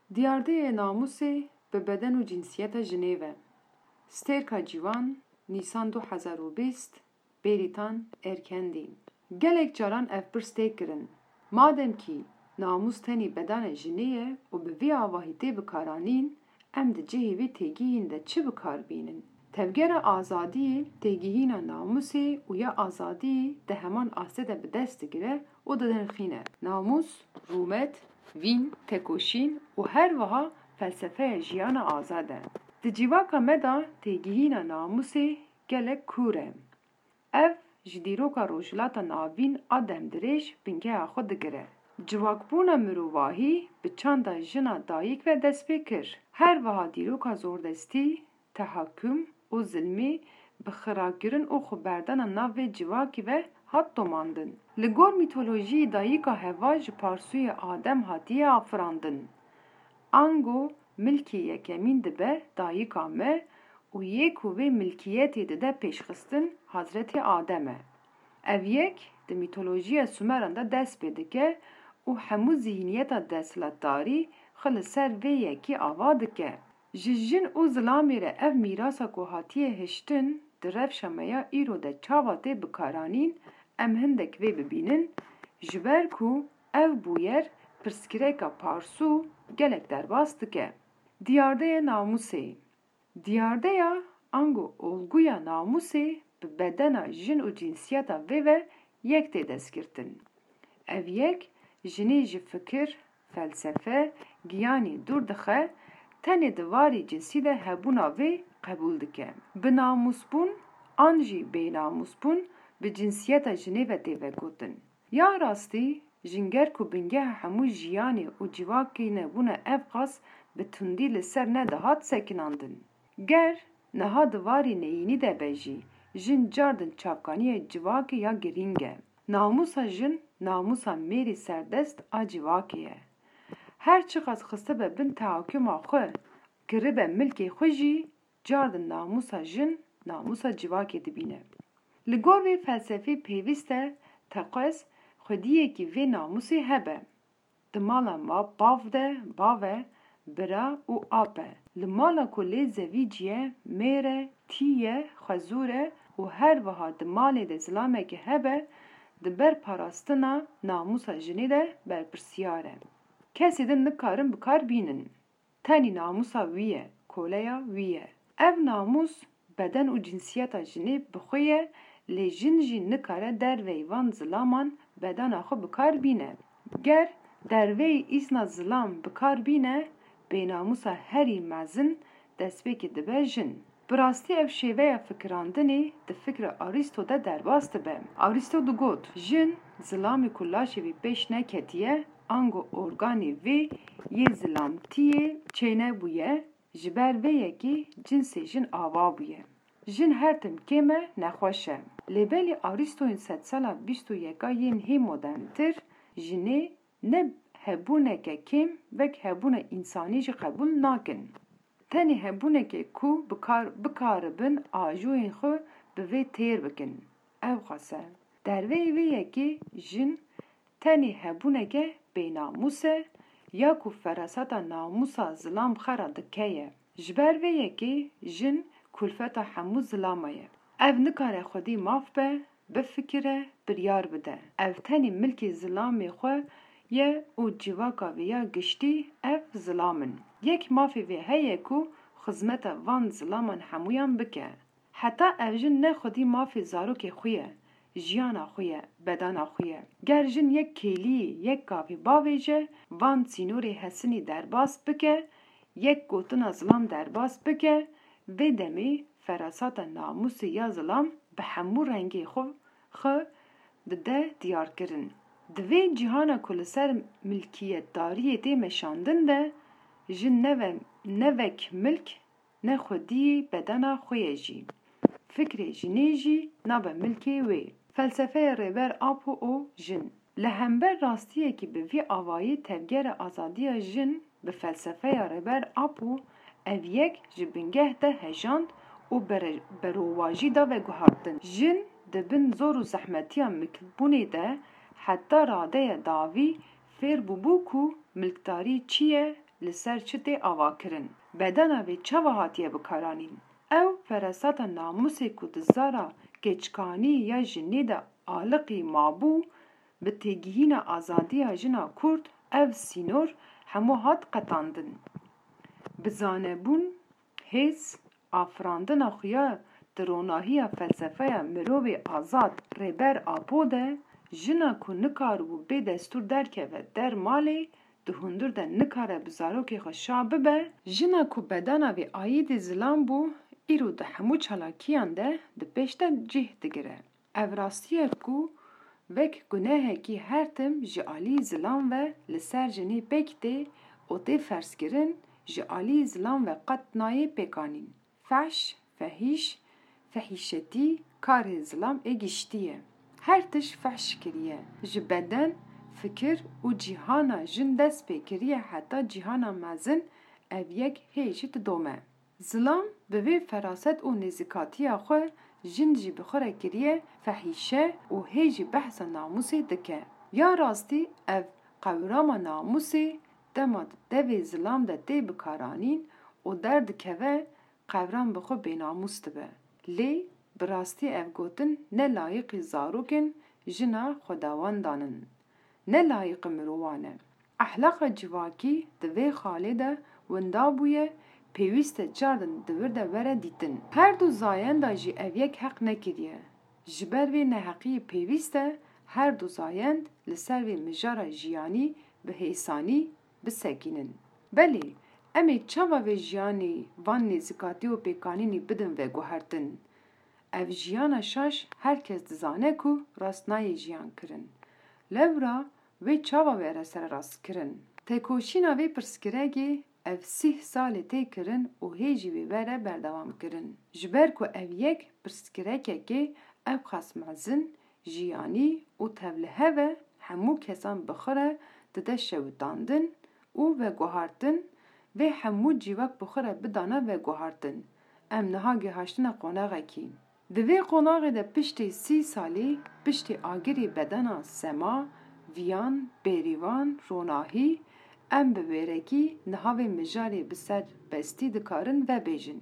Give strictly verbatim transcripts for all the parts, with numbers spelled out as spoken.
Diyardeyê Namûsê bi beden û cinsiyeta jinê ve. Stêrka Cîwan Nîsan du hezar û bîst Bêrîtan Erkendî. Gelek caran ev pirs tê kirin. Mademkî namûs tenê bedana jinê ye û bi vî avahî tê bikaranîn, em di cihê vê têgihîn de çi bikarbînin? Tevgera azadiyê têgihîna namûsê û ya azadiyê di heman astê de bi dest digire û didinxîne. Namûs, rûmet, vîn, tekoşîn û her wiha felsefeya jiyana azad e. Di civaka me de têgihîna namûsê gelek kûr e. Ev ji dîroka rojhilata navîn a demdirêj bingeha xwe digire. Civakbûna mirovahî bi çanda jina dayîk ve dest pê kir. Her wiha dîroka zordestî, tehakküm û zilmê bi xirakirin û xweberdana nav vê civakî ve hat domandin. Li gor mîtolojiyê dayîka heva ji parsûyê Adem hatiye afirandin. Ango milkê yekemîn dibe dayîka me û yê ku vê milkiyetê dide pêşxistin Hazretê Adem e. Ev yek di mîtolojiya Sumeran de dest pê dike û hemû zihîniyeta desthilatdarî xwe li ser vê yekî ava dike. Ji jin û zilamê re ev mîrasa ku hatiye hiştin di rewşa me ya îro de çawa tê bikaranîn, em hindek vê bibînin, ji ber ku ev bûyer pirskirêka parsû gelek derbas dike. Diyardeyê Namûsê. Diyardeya ango olguya namûsê bi bedena jin û cinsiyeta vê ve yek tê destgirtin. Ev yek jinê ji fikir, felsefe, giyanî dûr dixe, tenê di warê cinsî de hebûna vê qebûl dike. Bi namûsbûn an jî bênamûsbûn bi cinsiyeta jinê ve tê vegotin. Ya rastî jinger ku bingeha hemû jiyanê û civakê nebûne ev qas bi tundî li ser nedihat sekinandin. Ger niha di warê neyînî de be jî, jin cardin çavkaniyê civakê ya girîng e. Namûsa jin, namûsa mêrê serdest a civakê ye. Her çi qas xiste be bin tehakkûma xwe, kiribe milkê xwe jî, cardin namûsa jin, namûsa civakê dibîne. Li gor vê felsefê pêwîst e teqes xwediyekî vê namûsê hebe. Di mala me bav de bav e, bira û ap e. Li mala ku lê zevî ciye, mêr e, tî ye, xwezûr e û her wiha di malê de zilamekî hebe, di ber parastina namûsa jinê de berpirsyar e. Kesê din nikarin bikar bînin. Tenî namûsa wî ye, koleya wî ye. Ev namûs beden û cinsiyeta jinê bi xwe ye, lê jin jî nikare derveyî van zilaman bedena xwe bikar bîne. Ger derveyî îsna zilam bikar bîne, bênamûsa herî mezin destpêkê dibe jin. Bi rastî ev şêveya fikirandinê di fikra Arîsto de derbas dibe. Arîsto digot, jin zilamê ku laşê wî pêş neketiye, ango organê vê yê zilamtiyê çênebûye, ji ber vê yekî cinsê jin ava bûye. Jin her tim kêm e, nexweş e. Lêbelî Arîstoyên sedsala bîst û yeka yên hê moderntir, jinê ne hebûneke kêm vek hebûna însanî jî qebûl nakin. Tenê hebûnekê ku bikar bikaribin ajoyên xwe bi vê têr bikin. Ew xas e. Derveyê vê yekê jin tenê hebûneke bênamûs e, ya ku feraseta namûsa zilam xera dike ye. Ji ber vê yekê jin kulfeta hemû zilama ye. Ev nikare xwedî maf be, bifikire, biryar bide. Ev tenê milkê zilamê xwe ye û civaka vê ya giştî ev zilam in. Yek mafê vê heye ku xizmeta van zilaman hemûyan bike. Heta ev jin ne xwedî mafê zarokê xwe ye, jiyana xwe ye, bedana xwe ye. Ger jin yek kêliyê, yek gavê bavê je, van sînorê hesinî derbas bike, yek gotina zilam derbas bike, vê demê feraseta namûsê ya zilam bi hemû rengê xwe xwe dide diyarkirin. Di vê cîhana ku li ser milkiyetdariyê tê meşandin de, jin neve nevek milk ne xwediyê bedena xwe ye jî. Fikrê jinê jî nabe milkê wê. Felsefeya rêber apo û jin. Li hember rastiyekî bi vî avayî tevgera azadiya jin bi felsefeya rêber apo, ev yek ji bingeh de hejand û berowajî da veguhartin. Jin dibin zor û zehmetiya milkbûnê de heta radeya dawî fêr bûbû ku milkdarî çi ye, li ser çi tê avakirin. Bedena vê çawa hatiye bikaranîn? Ew feresata namusê ku di zara keçkanî ya jinê de aliqî mabû, bi têgihîna azadiya jina Kurd, ev sînor hemû hat qetandin. Bi zanebûn, hêz, afirandina xuya di ronahiya felsefeya mirovê azad rêber apo de, jina ku nikaribû bê destûr derkeve der malê, di hundir de nikare bi zarokê xwe şa bibe, jina ku bedena vê ayîdê zilam bû, îro di hemû çalakiyan de di pêş de cih digire. Ev rastiyek ku vek gunehekî her tim ji alî zilam ve li ser jinê pêk tê û tê ferskirin, ji alî zilam ve qet nayê pêkanîn. Feş, fehîş, fehîşetî karê zilam ê giştî. Her tişt feş kiriye. Ji beden, fikir û cîhana jin dest pê kiriye heta cîhana mezin ev yek hêjî didome. Zilam bi vê feraset û nêzîkatiya xwe jin jî bi xwe re kiriye fehîşe û hêjî behsa namusê dike. Ya rastî ev qewrama namusê dema di devê zilam de tê bikaranîn û derdikeve qewram bi xwe bênamus dibe. Lê bi rastî ev gotin ne layıqî zarokên jina xwedawandan in, ne layıqî mirovan e. Ehlaqa civakî di vê xalê de winda bûye, pêwîst e cardin di wir de were dîtin. Her du zayenda jî ev yek heq nekiriye. Ji ber vê neheqiyê pêwîst e her du zayend li ser vê mijara jiyanî bi hêsanî bisekînin. Belê, em ê çawa vê jiyanê van nêzîkatî û pêkanînê bidin veguhertin. Ev jiyana şaş herkes dizane ku rast nayê jiyan kirin. Lewra vê çawa were ser rast kirin. Têkoşîna vê pirskirekê ev sih salê tê kirin û hêjî vê were berdewam kirin. Ji ber ku ev yek pirskirekekê ev xas mezin, jiyanî û tevlihev e, hemû kesan bi xwe re dide şewitandin û veguhartin vê hemû cîvak bi xwe re bidane veguhartin. Em niha gihaştina qonaxekî. Di vê qonaxê de piştî sî salî, piştî agirê bedena sema, viyan, bêrîvan, ronahî, em bi wêrekî niha vê mijarê bi ser bestî dikarin vebêjin.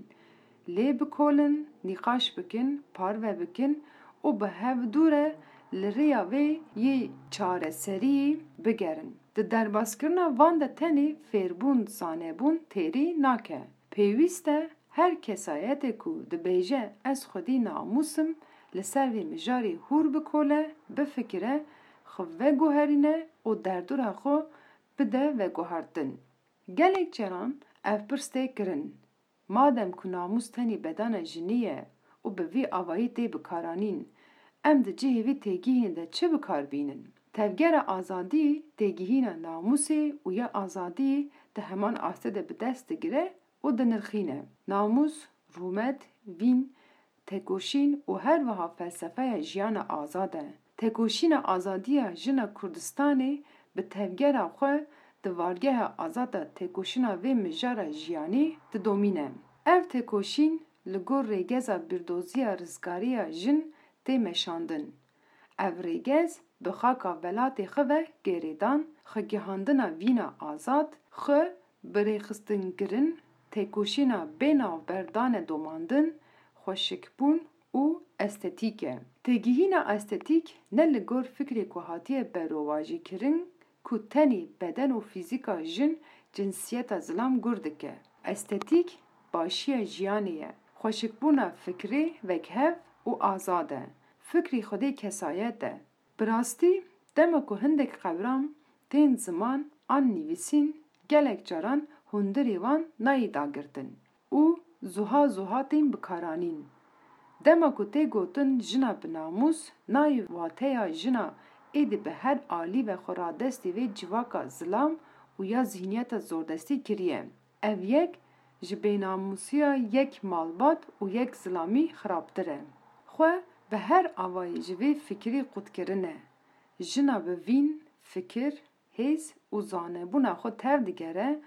Lê bikolin, nîqaş bikin, parve bikin û bi hevdû re li rêya vê yê çareseriyê bigerin. Di derbaskirina van de tenê fêrbûn, zanebûn têrî nake. Pêwîst e her kesayetê ku dibêje ez xwedî namusim li ser vê mijarê hûr bikole, bifikire, xwe veguherîne û derdora xwe bide veguhertin. Gelek caran ev pirs tê kirin. Madem ku namus tenê bedena jinî ye û bi vê avayî tê bikaranîn, em di cihê vê têgihên de çi bikarbînin? Tevgera azadî têgihîna namusê û ya azadî di heman astê de bi dest digire û dinirxîne. Namus, rûmet, vîn, têkoşîn û her wiha felsefeya jiyana azad e. Têkoşîna azadiya jina Kurdistanê bi tevgera xwe di vargeha azad da têkoşîna vê mijara jiyanî didomîne. Ev têkoşîn li gor rêgeza bîrdoziya rizgariya jin tê meşandin. Ev rêgez bi xaka welatê xwe ve gerêdan, xwegihandina vîna azad, xwe birêxistinkirin, têkoşîna bênavberdanê domandin, xweşikbûn û estetîk e. Têgihîna estetîk ne li gor fikrê ku hatiye berovajîkirin ku tenê beden û fîzîka jin cinsiyeta zilam gur dike. Estetîk başiya jiyanê ye. Xweşikbûna fikrê vekhev û azad e. Fikrî xwedê kesayet e. Bi rastî dema ku hindek qewram tên ziman an nivîsîn gelek caran hundirê wan nayê dagirtin û zuha zuha tên bikaranîn. Dema ku tê gotin jina bi namus, nayê wateya jina êdî bi her alî ve xwe radestî vê civaka zilam û ya zihniyeta zordestî kiriye. Ev yek ji bênamusiya yek malbat û yek zilamî xirabtir e. Xwe bi her avayî ji vê fikrî qutkirin. Jina bi vîn, fikir, hêz û zanebûna xwe tev digere,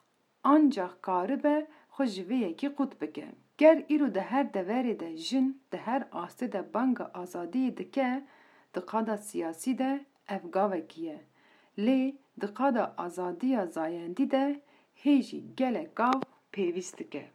ancak karibe xwe ji vê yekî qut bike. Ger îro di her deverê de jin di her astê de banga azadiyê dike, di qada siyasî de ev gavekî ye. Lê di qada azadiya zayendî de hêjî gelek gav pêwîst dike.